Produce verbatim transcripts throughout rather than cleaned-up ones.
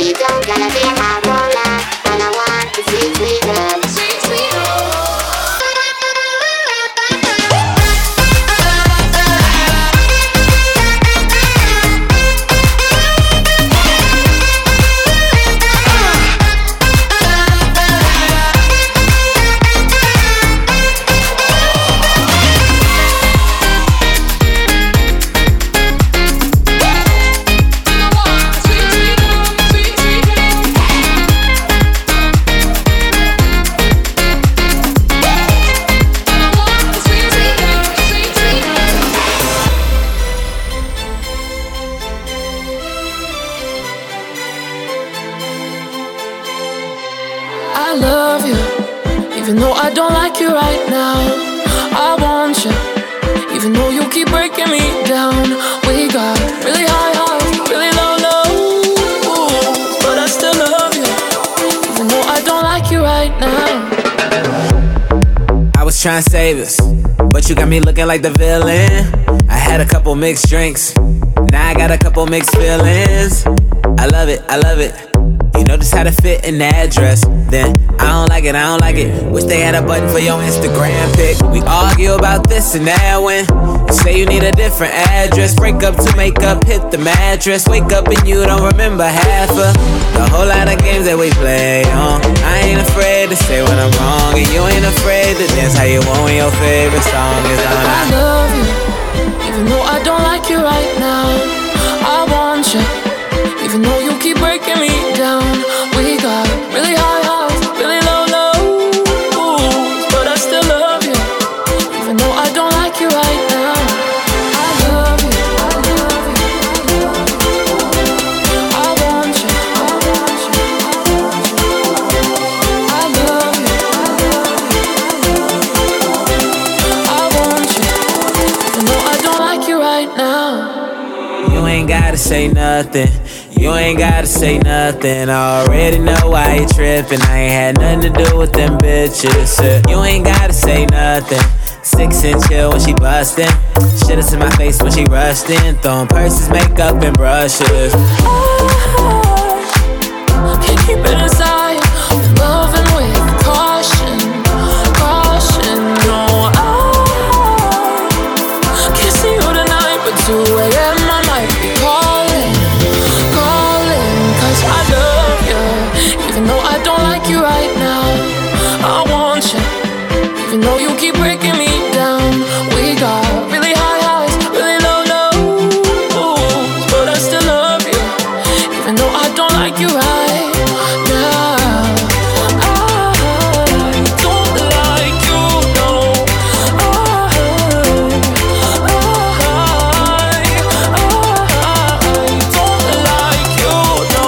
you don't gotta be my roller, all I want is sweet, sweet love, sweet, sweet love. I love you, even though I don't like you right now. I want you, even though you keep breaking me down. We got really high highs, really low lows, but I still love you, even though I don't like you right now. I was trying to save us, but you got me looking like the villain. I had a couple mixed drinks, now I got a couple mixed feelings. I love it, I love it. You know just how to fit in that dress. Then I don't like it, I don't like it. Wish they had a button for your Instagram pic. We argue about this and that when you say you need a different address. Break up to make up, hit the mattress. Wake up and you don't remember half of the whole lot of games that we play on. I ain't afraid to say when I'm wrong, and you ain't afraid to dance how you want when your favorite song is on. I love you, even though I don't like you right now. I want you, even though you keep breaking me down. We got really high highs, really low lows, but I still love you, even though I don't like you right now. I love you, I love you, I want you, I want you, I love you, I want you, even though I don't like you right now. You ain't gotta say nothing, you ain't gotta say nothing. I already know why you trippin'. I ain't had nothing to do with them bitches. You ain't gotta say nothing. Six and chill when she bustin'. Shit is in my face when she rushed in. Throwing purses, makeup, and brushes. I can't keep it inside. I'm loving with caution, caution. No, I can't see you tonight, but two a.m. I might be calling. I love you, even though I don't like you right now. I want you, even though you keep breaking me down. We got really high highs, really low lows, but I still love you, even though I don't like you right now. I don't like you, no. I, I, I don't like you, no.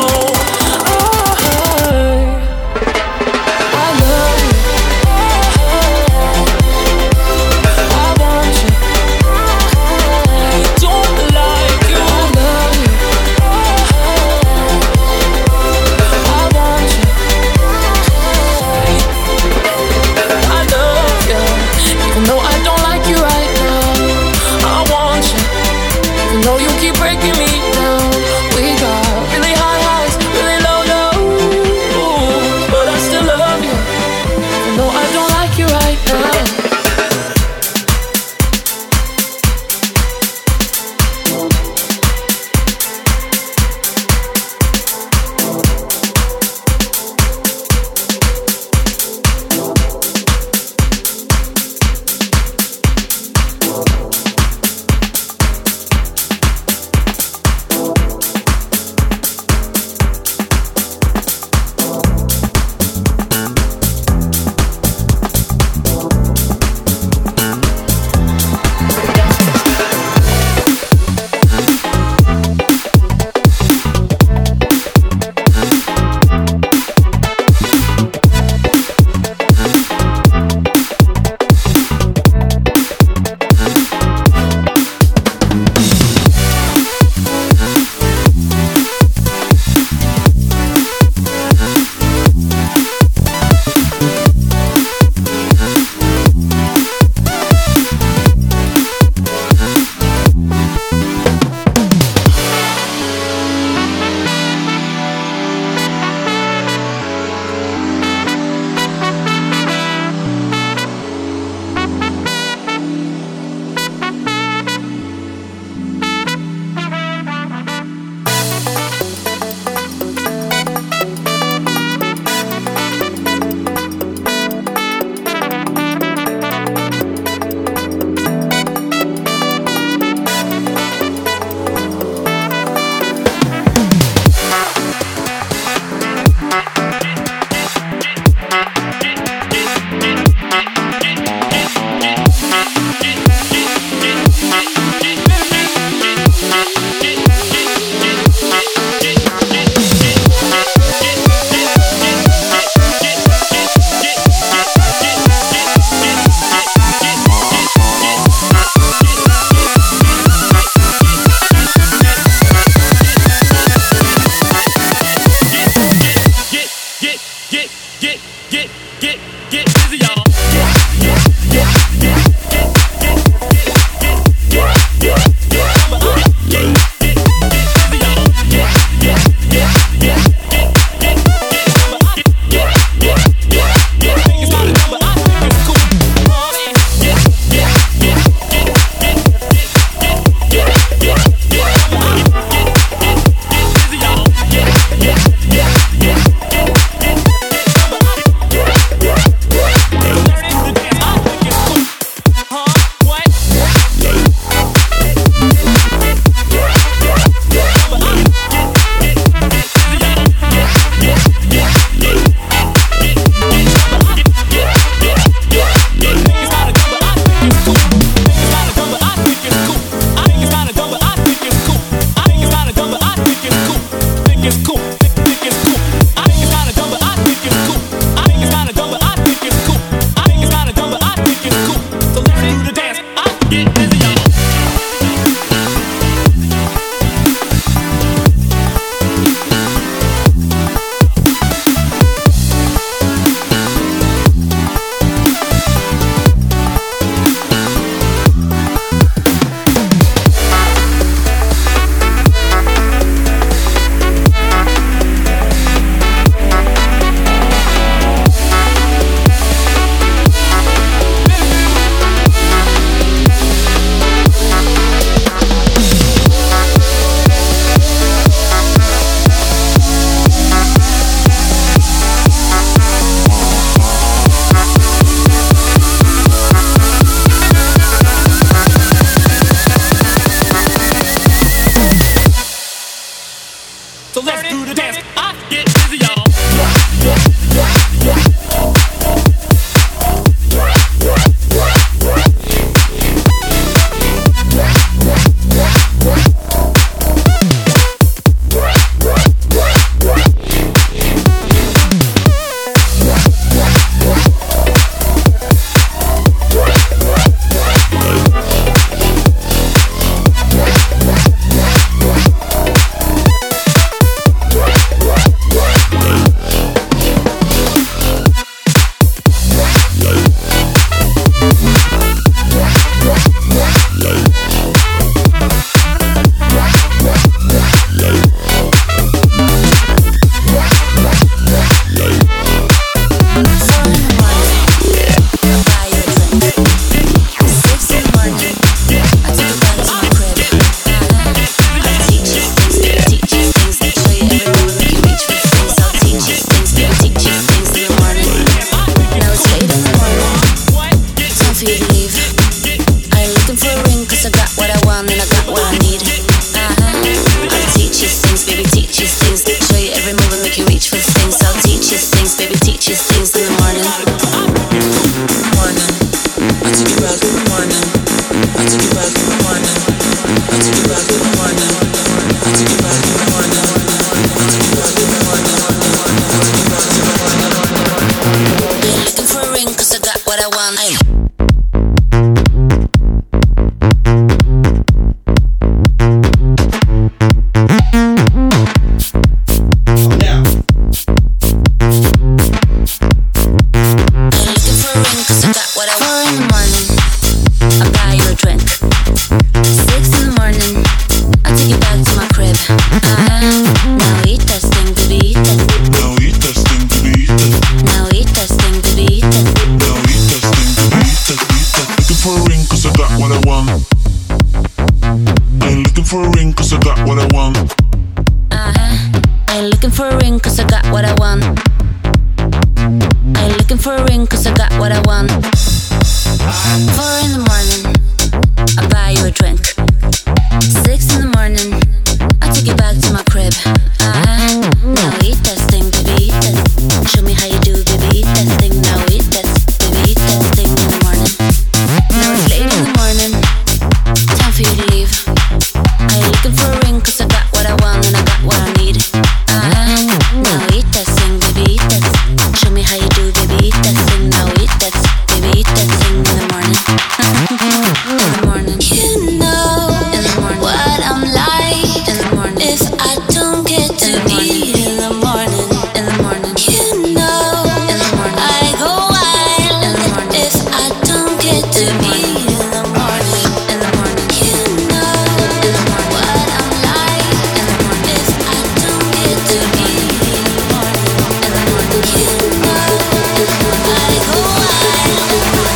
for a ring cause I got what I want. Uh-huh. I ain't looking for a ring cause I got what I want. I ain't looking for a ring cause I got what I want. Four in the morning, I buy you a drink. Six in the morning, I take you back to my crib. Uh-huh. Now eat that thing, baby, eat that. Show me how you do, baby, eat that thing. Now eat that, baby, eat that thing in the morning. Now it's late in the morning, time for you to leave. I ain't looking for a ring cause I got what I want and I got what I need. Uh-huh. Now eat that thing, baby, eat that. Show me how you do, baby, eat that thing. Now eat that, baby, eat that thing in the morning. In the morning. You know in the morning what I'm like. In the morning. If I don't get to eat in the morning. In the morning. You know in the morning I go wild. In the morning. If I don't get to eat in the morning. In the morning. You know in the morning what I'm like. In the morning. If I don't get to eat in the morning. In the morning. You know in the morning I go wild.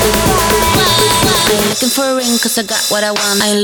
I'm looking for a ring cause I got what I want. I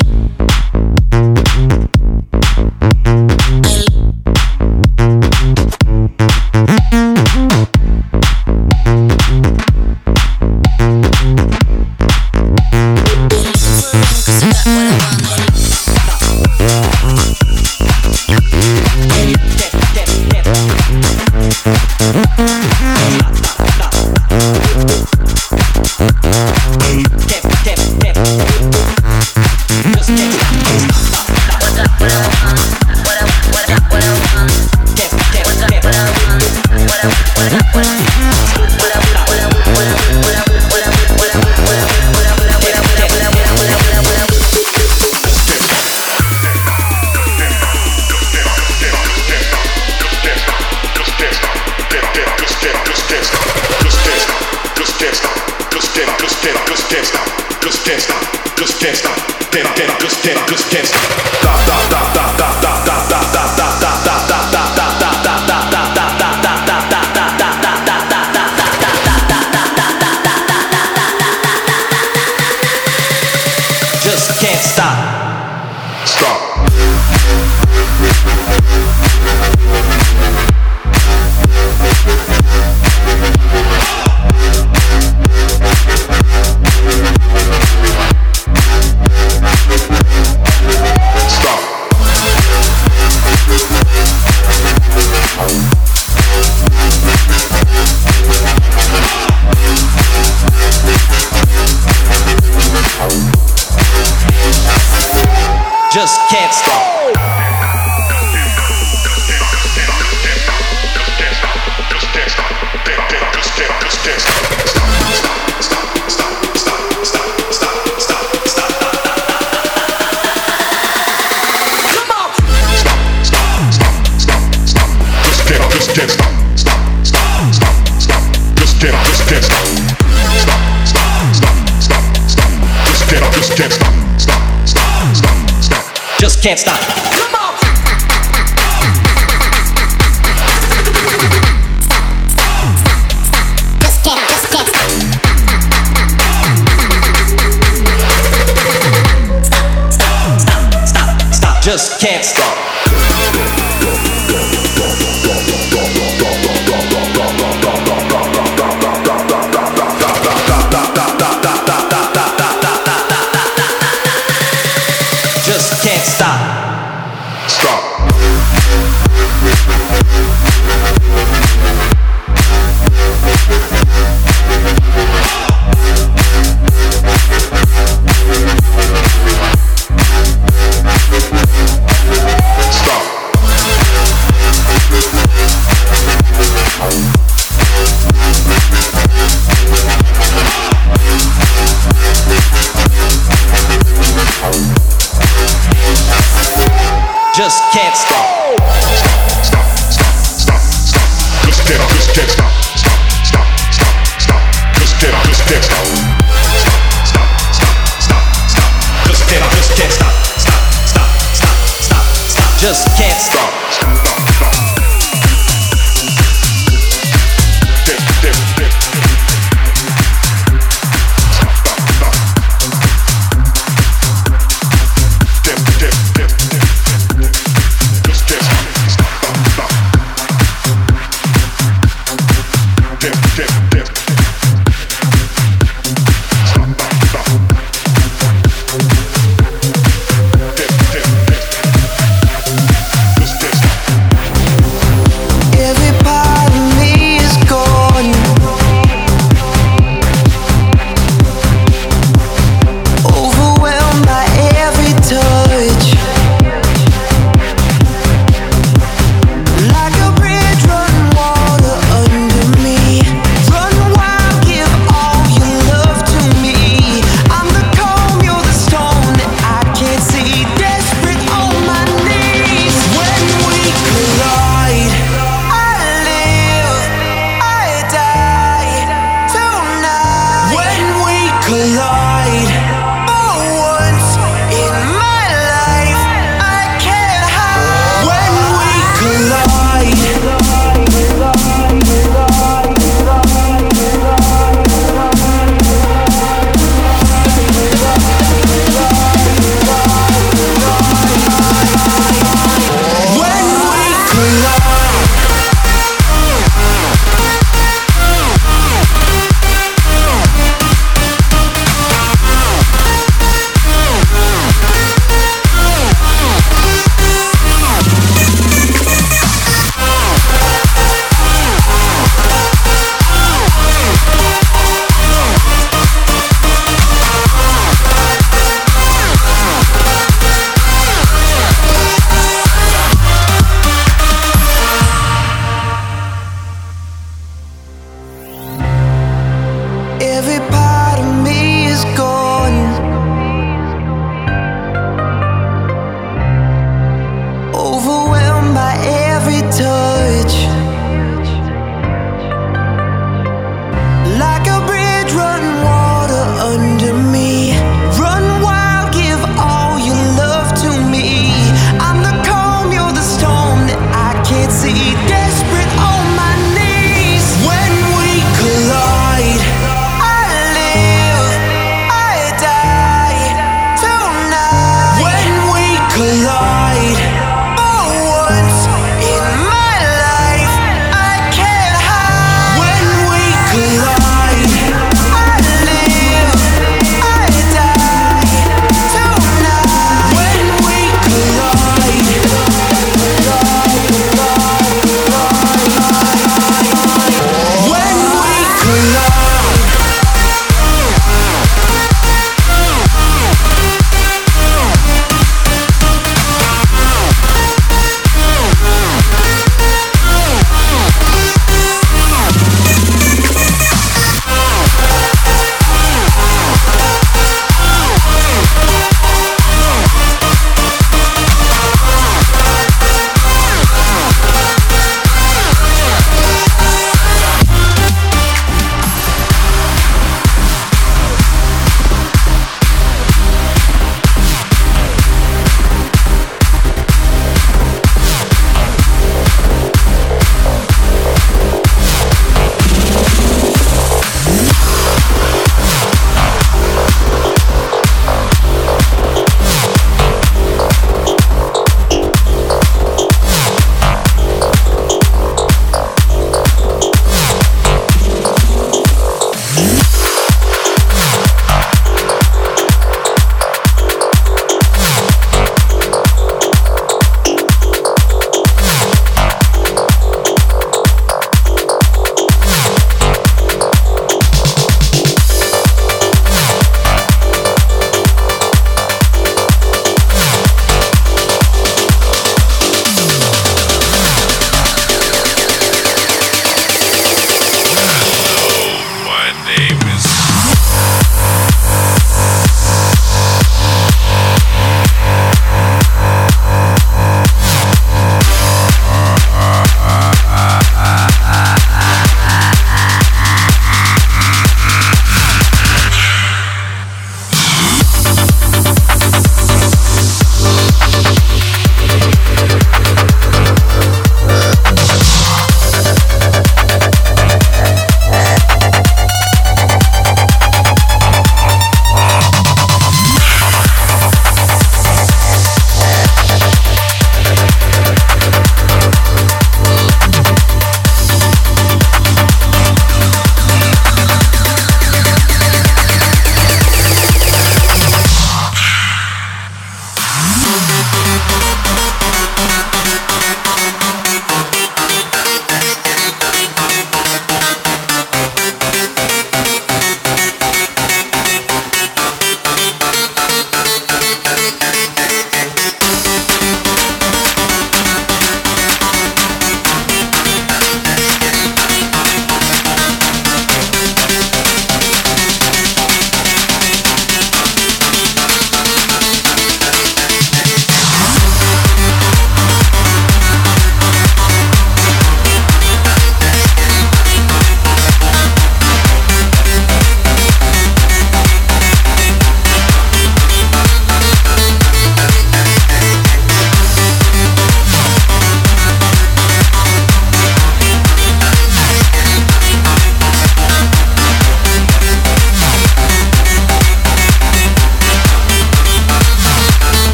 just can't stop. Stop. Just can't stop. Just can't stop. Come on. Just can't, just can't stop. Stop, stop, stop, stop. Just can't stop. Just can't stop. Stop. Just can't stop. Stop, stop, stop, stop, stop. Just can't, just can't stop. Stop, stop, stop, stop. Just can't, just can't stop. Stop, stop, stop, stop, stop. Just can't, just can't stop. Stop, stop, stop, stop, stop. Just can't stop. Stop, stop, stop. Dip, dip, dip. Stop, stop, stop. Dip, dip, dip, dip.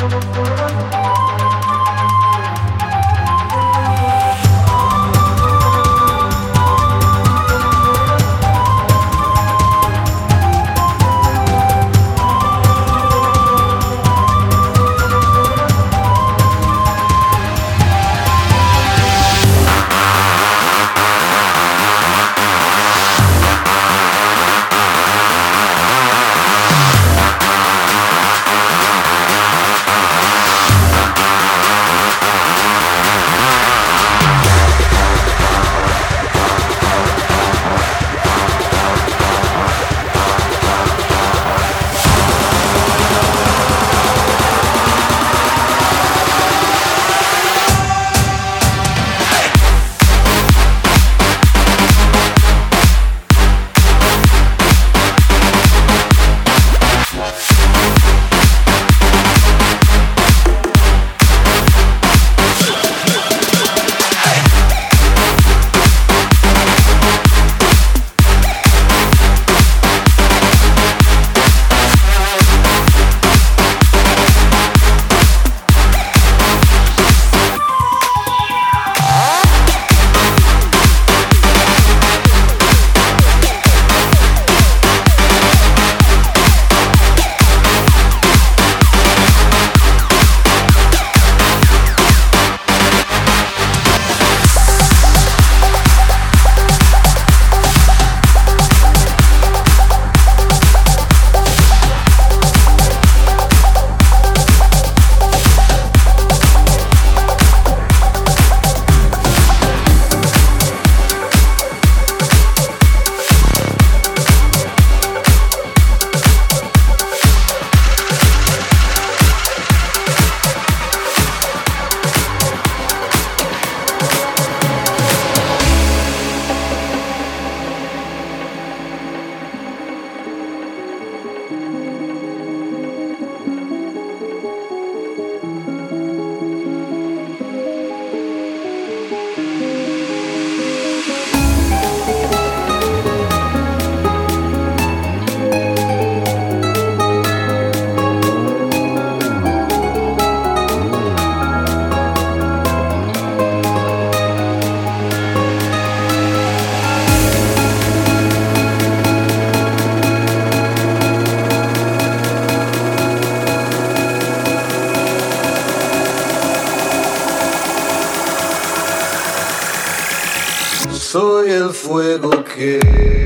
Soy el fuego que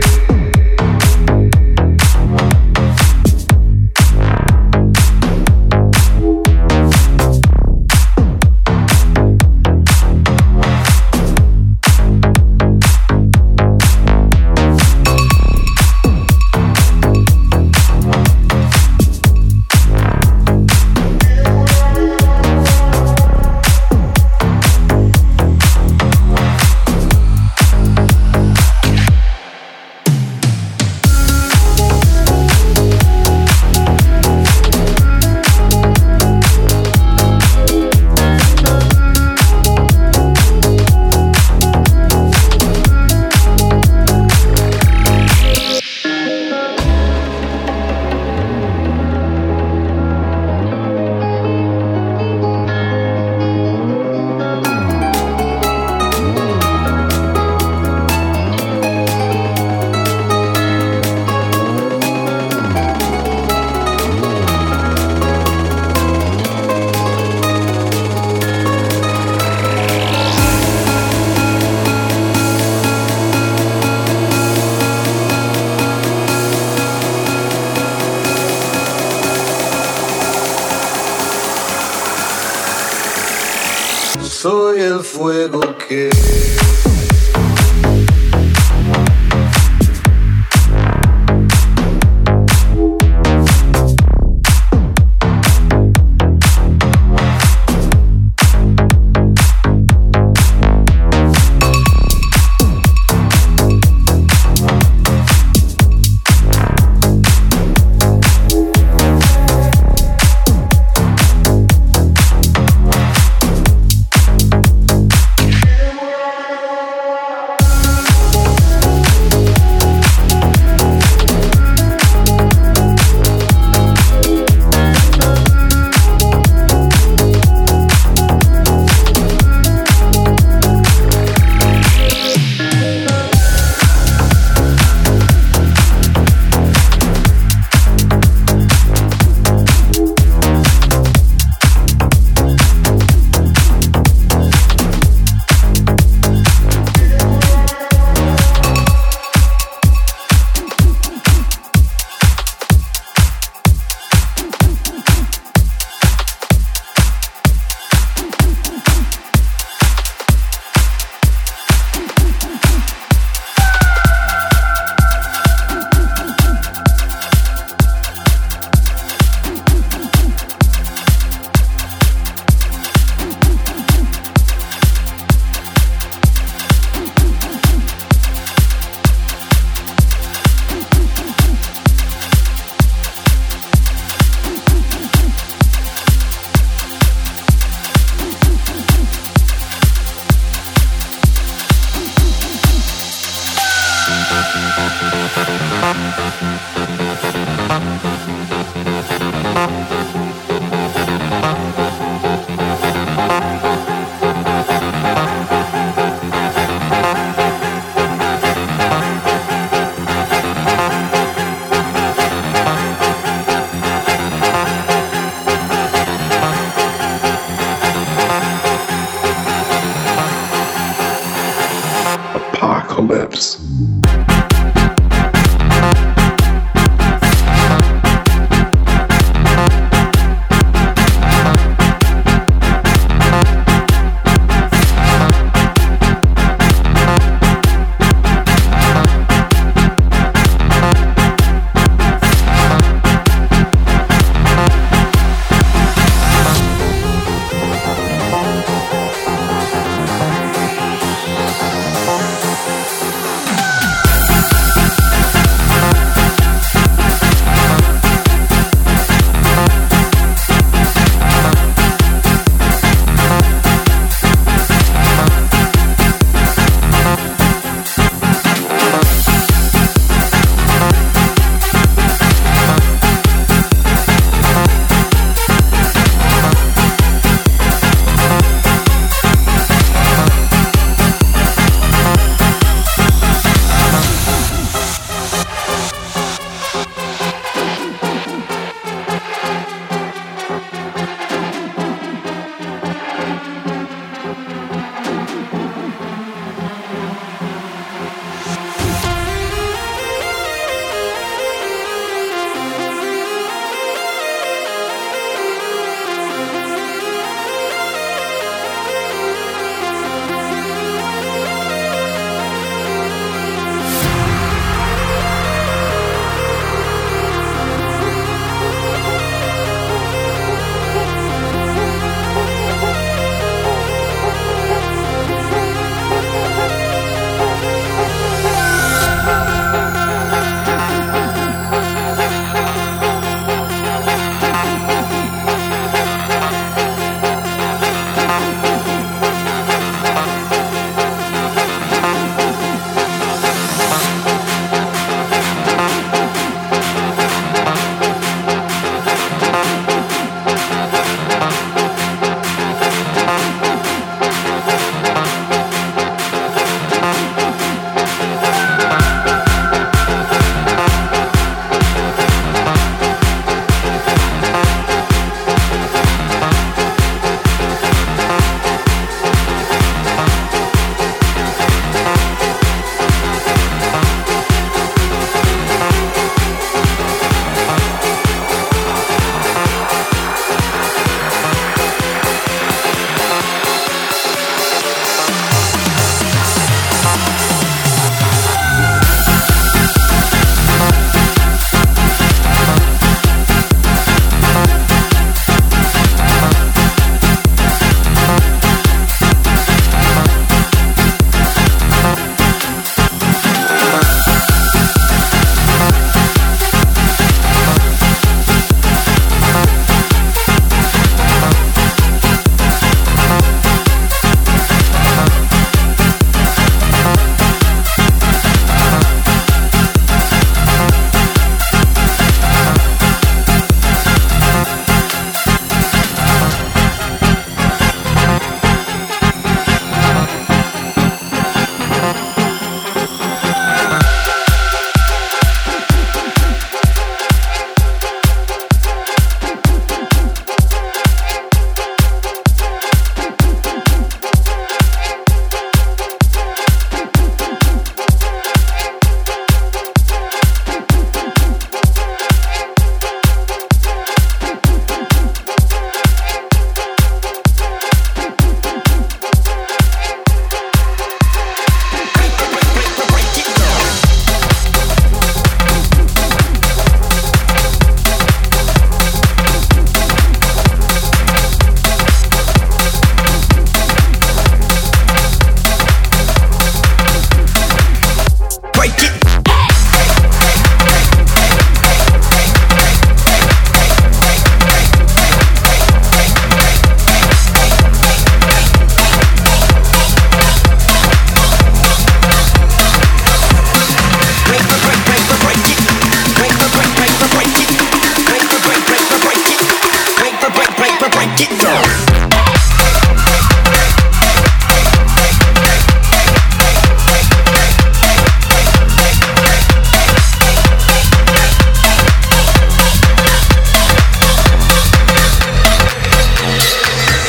Soy el fuego que Apocalypse.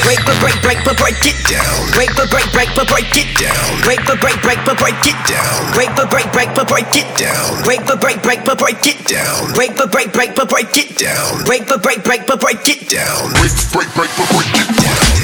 Break but break break but break it down. Break but break break but break it down. Break but break break but break it down. Break but break break but break it down. Break but break break but break it down. Break but break break but break it down. Break but break break but break it down. Break, break, break, but break it down.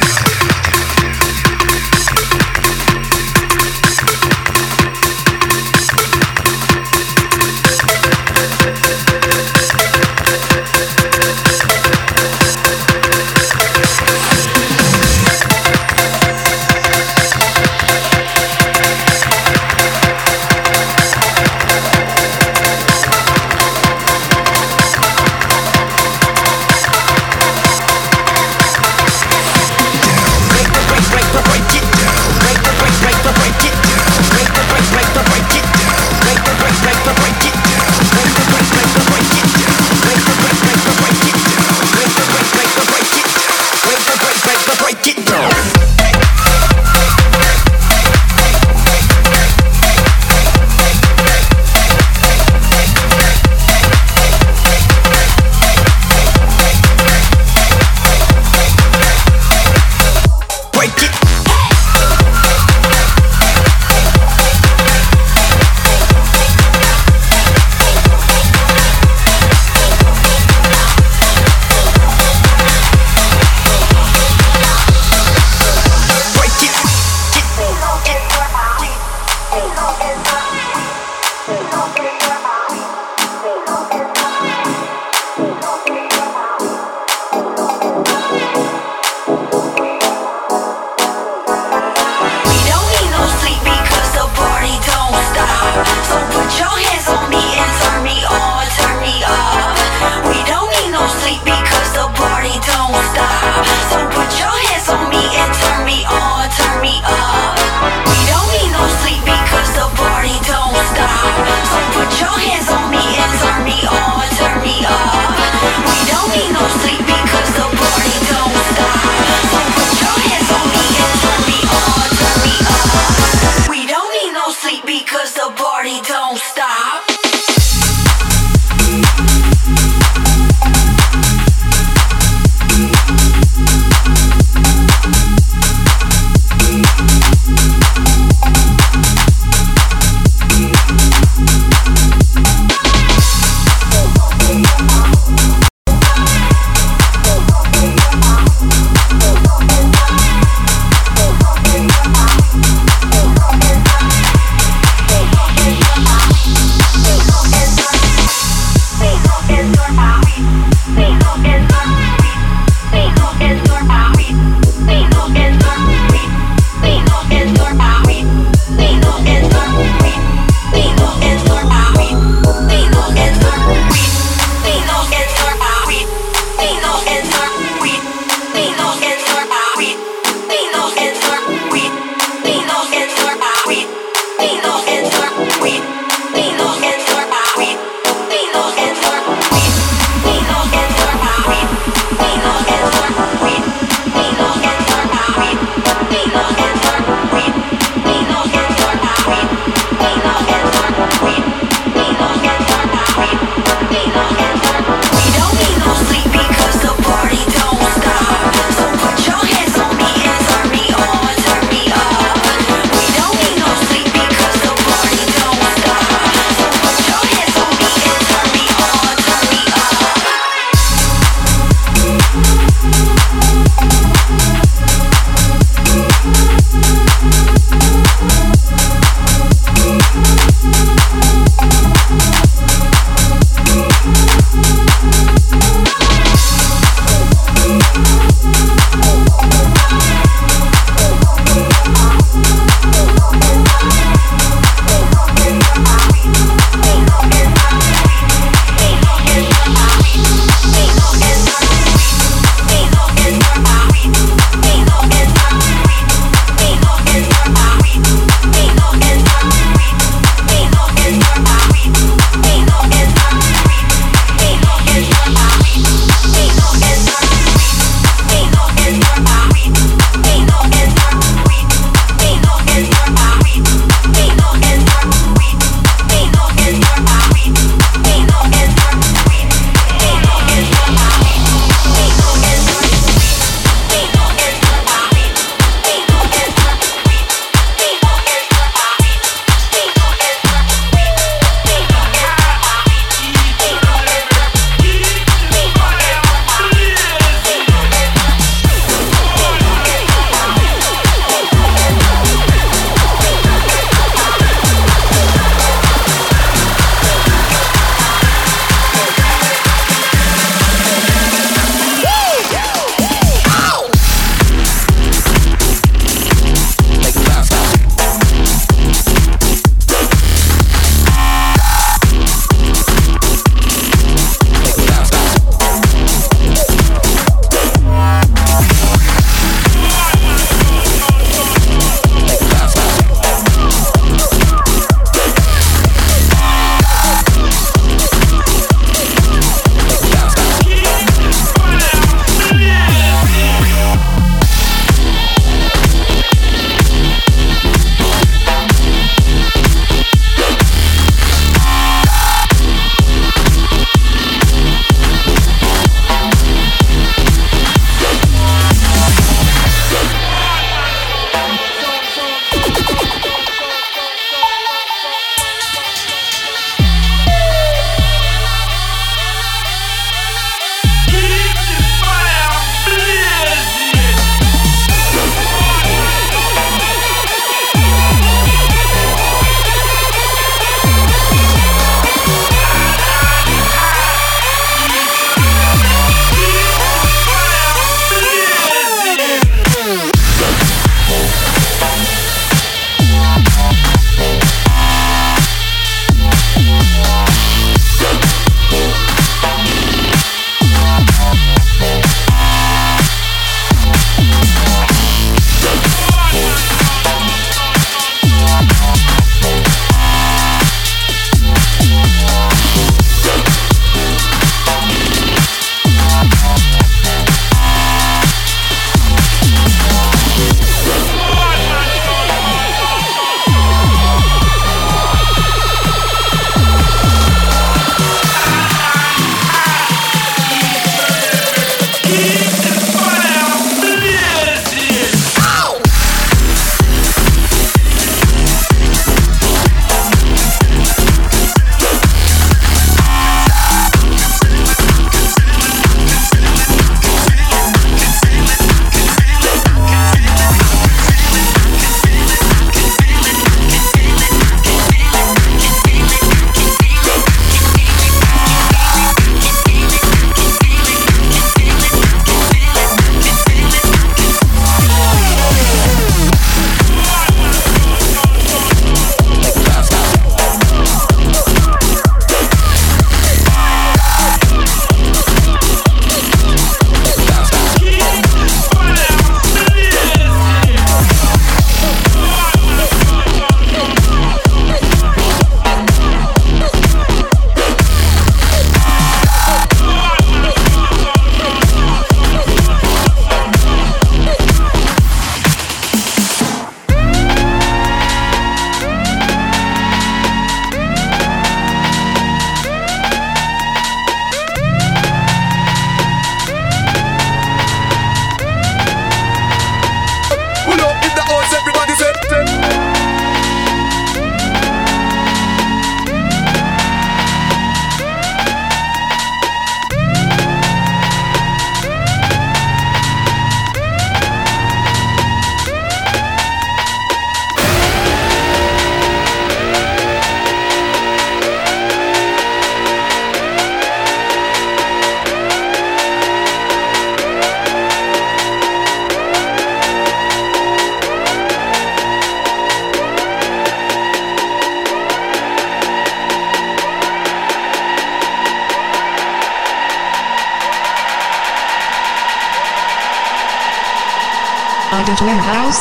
I don't wear house.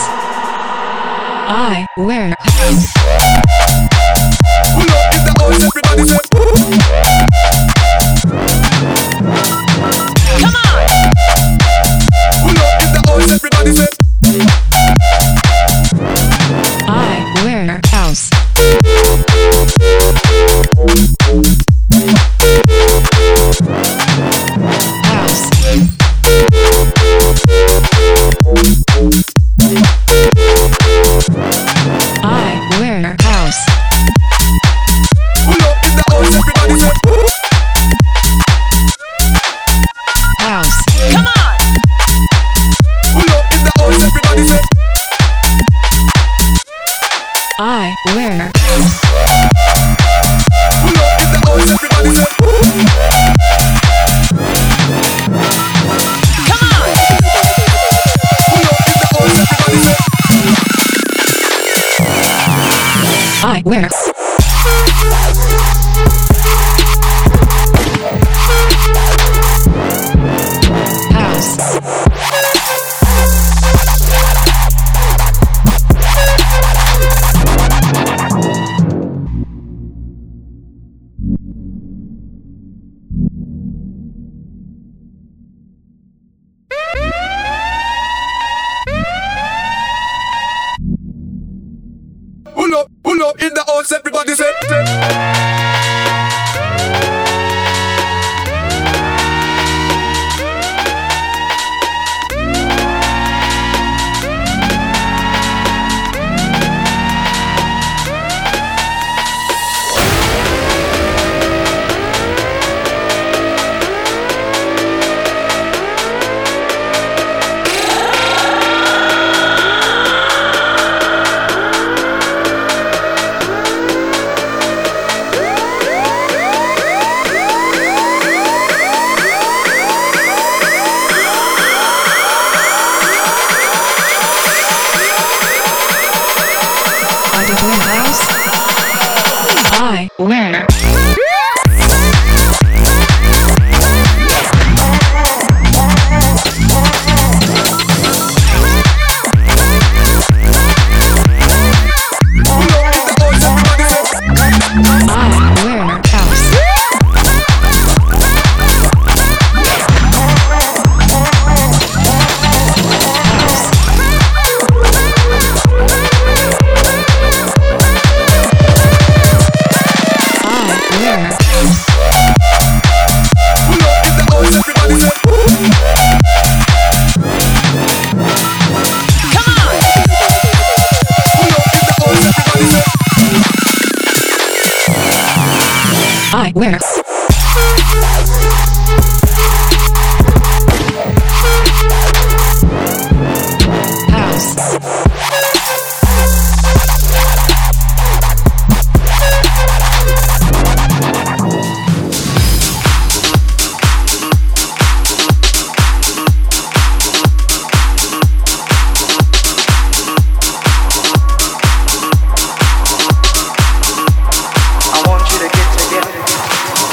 I wear house. Pull up in the house, everybody say. Come on! Pull up in the house, everybody say. I wear house. House. I wear house. Pull up in the house, everybody say. House. Come on! Pull up in the house, everybody say. I wear house. Pull up in the house, everybody say. Come on! Pull up in the house, everybody say. I wear house. Pull up, pull up in the house, everybody say. I don't wear house. I wear Pull up in the house, everybody say. I wear house. I wear house. Pull up in the house, everybody say. Come on! Pull up in the house, everybody say. I wear house. I want you to get together.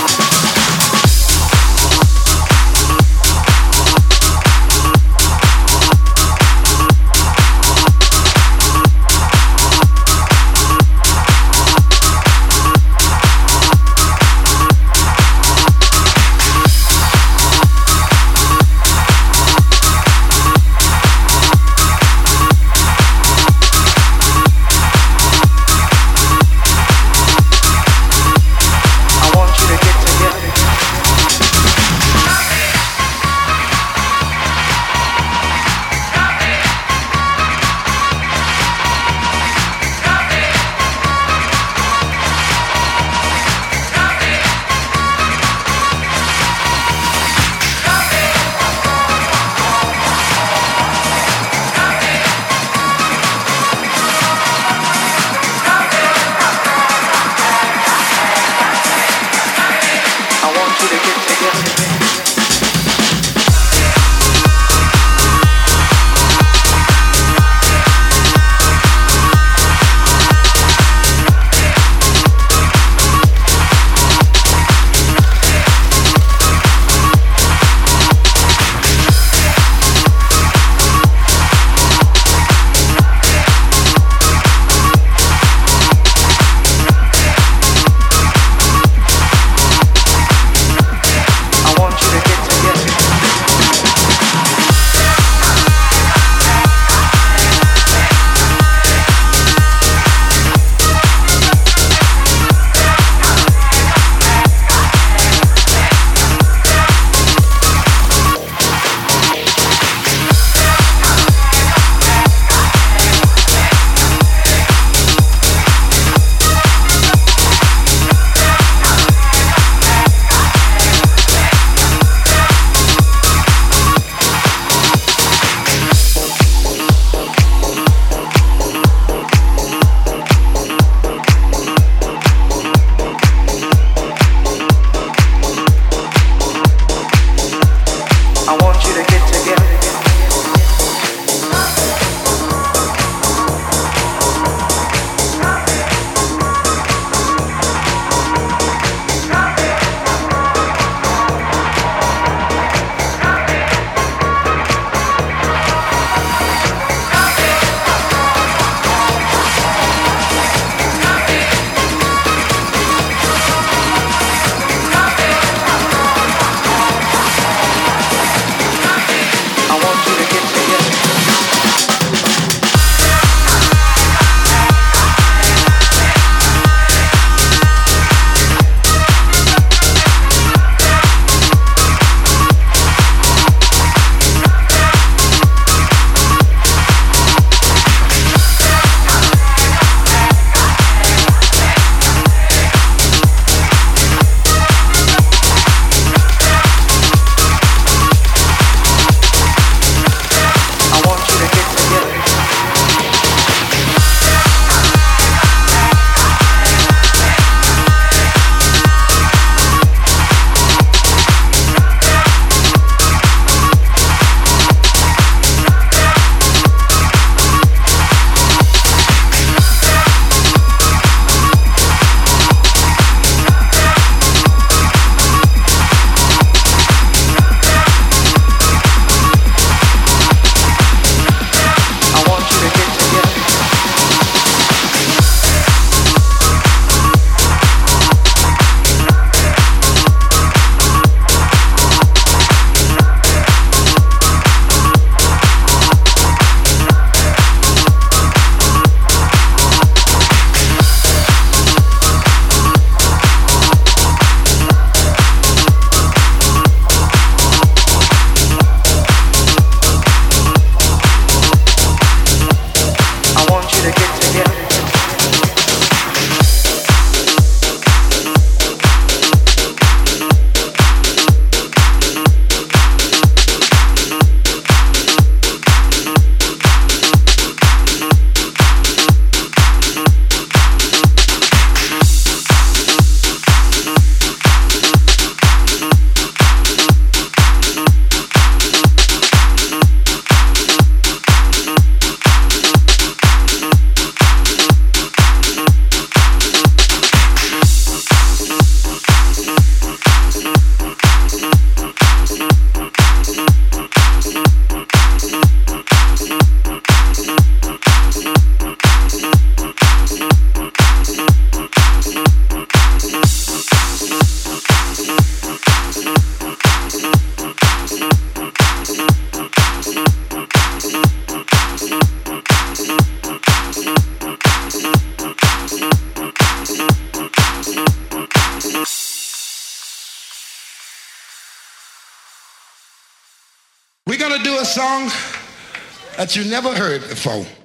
We're gonna do a song that you never heard before.